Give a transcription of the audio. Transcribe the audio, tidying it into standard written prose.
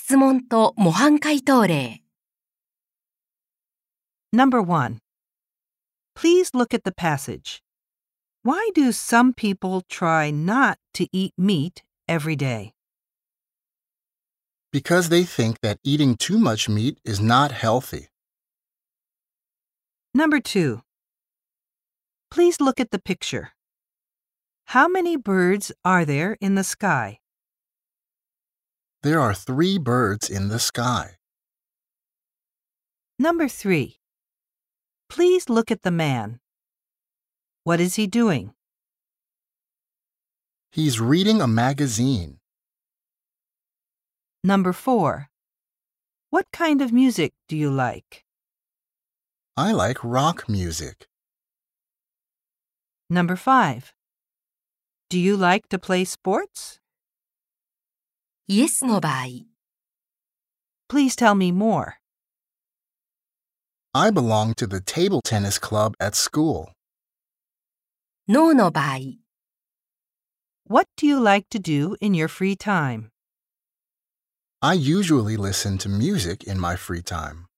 質問と模範解答例。 Number 1. Please look at the passage. Why do some people try not to eat meat every day? Because they think that eating too much meat is not healthy. Number 2. Please look at the picture. How many birds are there in the sky? There are 3 birds in the sky. Number 3. Please look at the man. What is he doing? He's reading a magazine. Number 4. What kind of music do you like? I like rock music. Number 5. Do you like to play sports? イエスの場合、 Please tell me more. I belong to the table tennis club at school. ノーの場合、 What do you like to do in your free time? I usually listen to music in my free time.